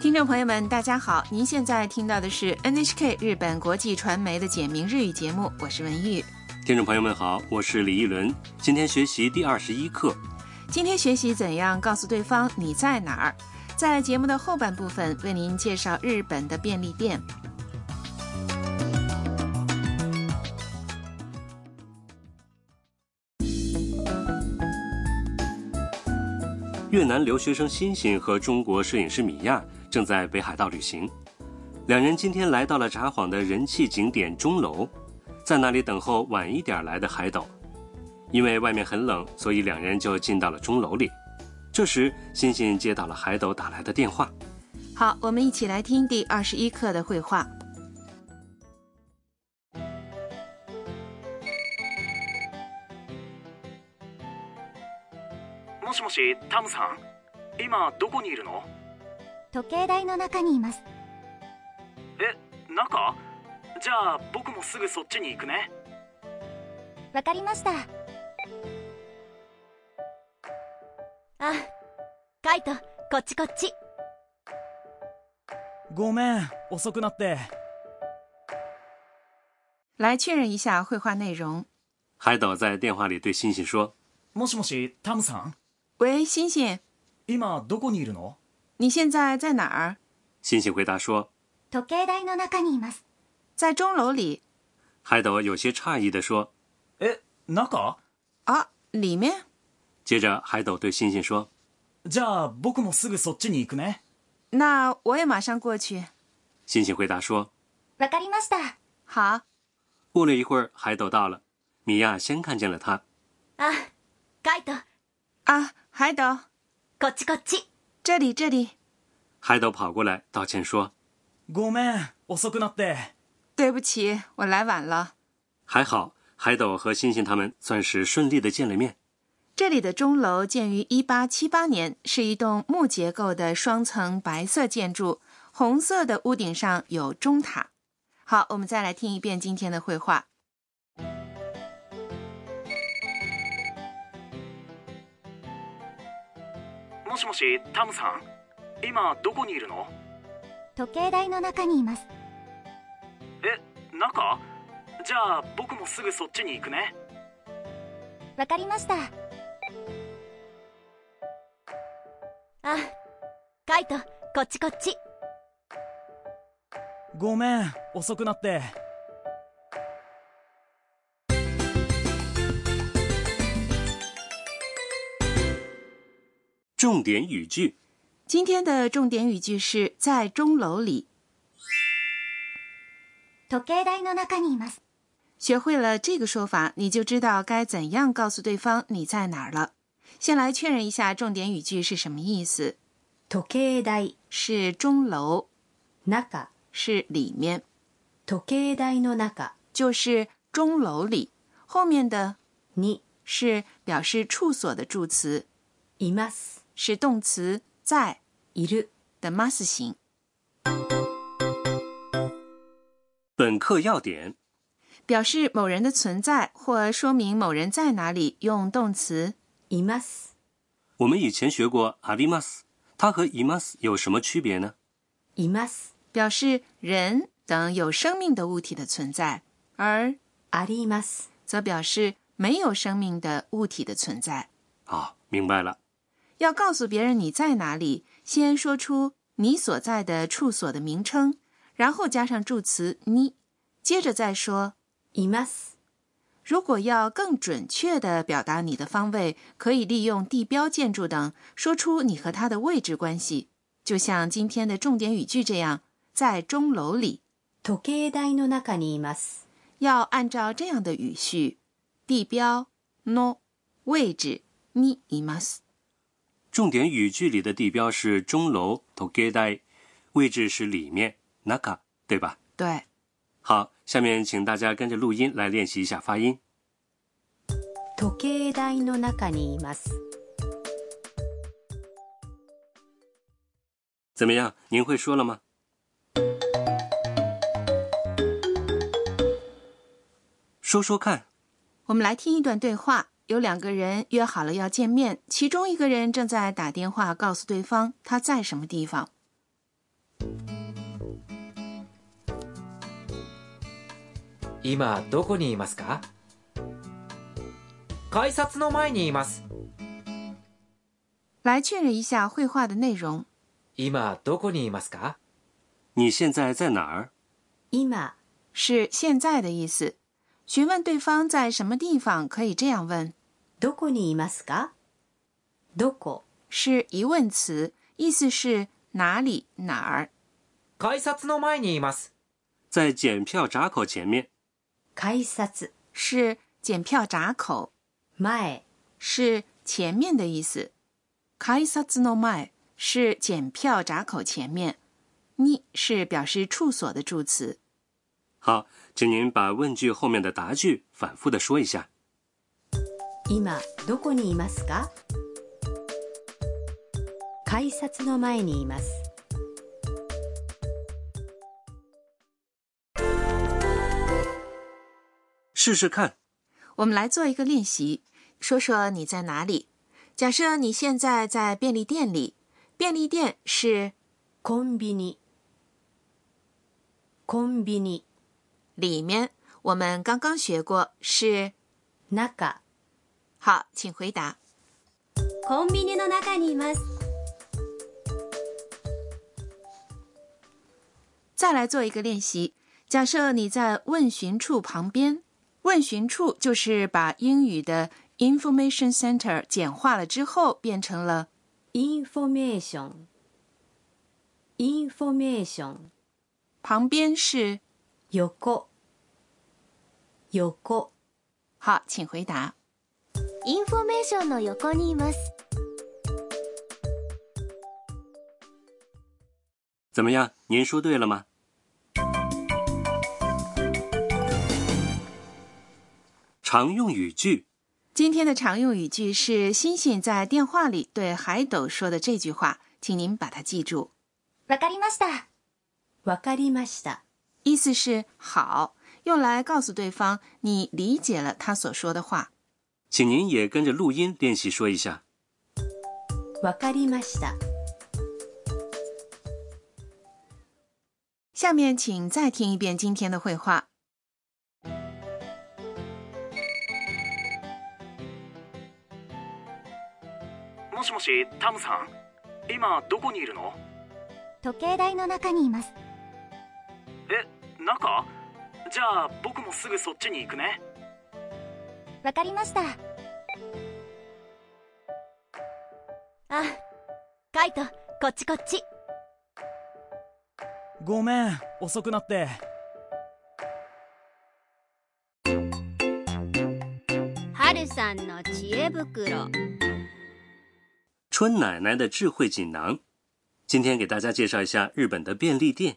听众朋友们大家好，您现在听到的是 NHK 日本国际传媒的简明日语节目，我是文玉。 听众朋友们好，我是李一伦。今天学习第21课。 今天学习怎样告诉对方你在哪儿。在节目的后半部分为您介绍日本的便利店。 越南留学生欣欣和中国摄影师米娅正在北海道旅行，两人今天来到了札幌的人气景点钟楼，在那里等候晚一点来的海斗。因为外面很冷，所以两人就进到了钟楼里。这时欣欣接到了海斗打来的电话。 好，我们一起来听第21课的绘画。 もしもし、タムさん、今どこにいるの？ 時計台の中にいます。 え、中？じゃあ僕もすぐそっちに行くね。 わかりました。あ、カイト、こっちこっち。 ごめん、遅くなって。 来确认一下绘画内容。 海斗在电话里对欣欣说： もしもし、タムさん。 喂，欣欣， 今どこにいるの？ 你现在在哪儿？ 欣欣回答说： 時計台の中にいます。 在钟楼里。 海斗有些诧异地说： え、中？ 啊，里面？ 接着海斗对欣欣说： じゃあ僕もすぐそっちに行くね。 那我也马上过去。 欣欣回答说： わかりました。 好。 过了一会儿，海斗到了，米娅先看见了他。 あ、カイト。 啊，海斗， こっちこっち。 这里这里。 海斗跑过来道歉说： ごめん、遅くなって。 对不起，我来晚了。 还好，海斗和欣欣他们算是顺利的见了面。 这里的钟楼建于1878年，是一栋木结构的双层白色建筑，红色的屋顶上有钟塔。好，我们再来听一遍今天的绘画。 もしもし、タムさん、今どこにいるの？ 時計台の中にいます。 え、中？じゃあ僕もすぐそっちに行くね。 わかりました。あ、カイト、こっちこっち。 ごめん、遅くなって。 重点语句。 今天的重点语句是在钟楼里。 時計台の中にいます。 学会了这个说法，你就知道该怎样告诉对方你在哪儿了。先来确认一下重点语句是什么意思。 時計台是钟楼， 中是里面， 時計台の中就是钟楼里。后面的に是表示处所的助词， います。 是动词在いる的 mas 形。 本课要点： 表示某人的存在或说明某人在哪里，用动词います。 我们以前学过あります，它和います有什么区别呢？ います。 表示人等有生命的物体的存在，而あります。 则表示没有生命的物体的存在。 好，明白了。 要告诉别人你在哪里，先说出你所在的处所的名称，然后加上助词に，接着再说います。 如果要更准确地表达你的方位，可以利用地标建筑等，说出你和它的位置关系，就像今天的重点语句这样，在钟楼里。 時計台の中にいます。 要按照这样的语序，地标の位置にいます。 重点语句里的地标是钟楼時計台，位置是里面中，对吧？ 对。 好，下面请大家跟着录音来练习一下发音。 時計台の中にいます。 怎么样？您会说了吗？说说看。 我们来听一段对话，有2个人约好了要见面，其中一个人正在打电话告诉对方他在什么地方。 今どこにいますか？改札の前にいます。 来确认一下绘画的内容。 今どこにいますか？ 你现在在哪儿？ 今是现在的意思。询问对方在什么地方，可以这样问。 どこにいますか？どこ是疑问词，意思是哪里哪儿。 改札の前にいます。 在检票闸口前面。 改札是检票闸口， 前是前面的意思。改札の前是检票闸口前面，に是表示处所的助词。 好，请您把问句后面的答句反复的说一下。 今どこにいますか？改札の前にいます。 试试看。 我们来做一个练习，说说你在哪里。假设你现在在便利店里，便利店是コンビニコンビニ里面，我们刚刚学过是中好，请回答。 コンビニの中にいます。 再来做一个练習。假设你在问询处旁边，问询处就是把英语的 information center 简化了之后变成了インフォメーションインフォメーション旁边是横横好，请回答。 インフォメーションの横にいます。 怎么样？您说对了吗？常用语句。 今天的常用语句是欣欣在电话里对海斗说的这句话，请您把它记住。 わかりました。わかりました。 意思是好，用来告诉对方你理解了他所说的话。 请您也跟着录音练习说一下。 わかりました。 下面请再听一遍今天的绘画。 もしもし、タムさん、今どこにいるの？ 時計台の中にいます。 中？じゃあ僕もすぐそっちに行くね。 わかりました。あ、カイト、こっちこっち。 ごめん遅くなって。 春さんの知恵袋。 春奶奶的智慧锦囊。今天给大家介绍一下日本的便利店。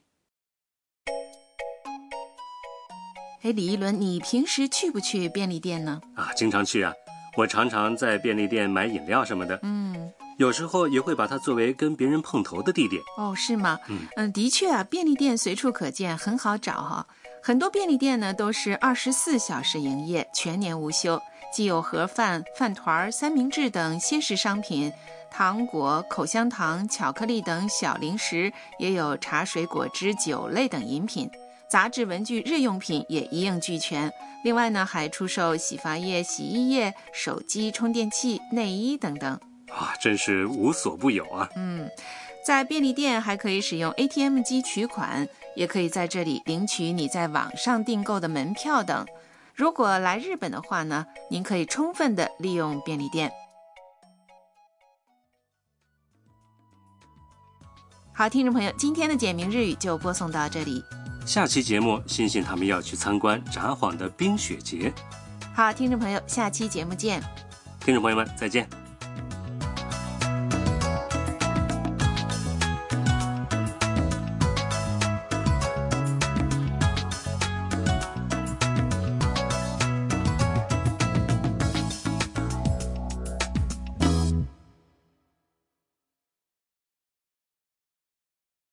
李一伦，你平时去不去便利店呢？ 经常去啊，我常常在便利店买饮料什么的。有时候也会把它作为跟别人碰头的地点。 哦，是吗？的确啊，便利店随处可见，很好找哈。很多便利店呢都是24小时营业，全年无休，既有盒饭、饭团、三明治等鲜食商品，糖果、口香糖、巧克力等小零食，也有茶水、果汁、酒类等饮品。杂志、文具、日用品也一应俱全。另外呢，还出售洗发液、洗衣液、手机、充电器、内衣等等。 真是无所不有啊。 在便利店还可以使用 ATM 机取款，也可以在这里领取你在网上订购的门票等。如果来日本的话呢，您可以充分的利用便利店。好，听众朋友，今天的简明日语就播送到这里。 下期节目，欣欣他们要去参观札幌的冰雪节。 好，听众朋友，下期节目见。 听众朋友们，再见。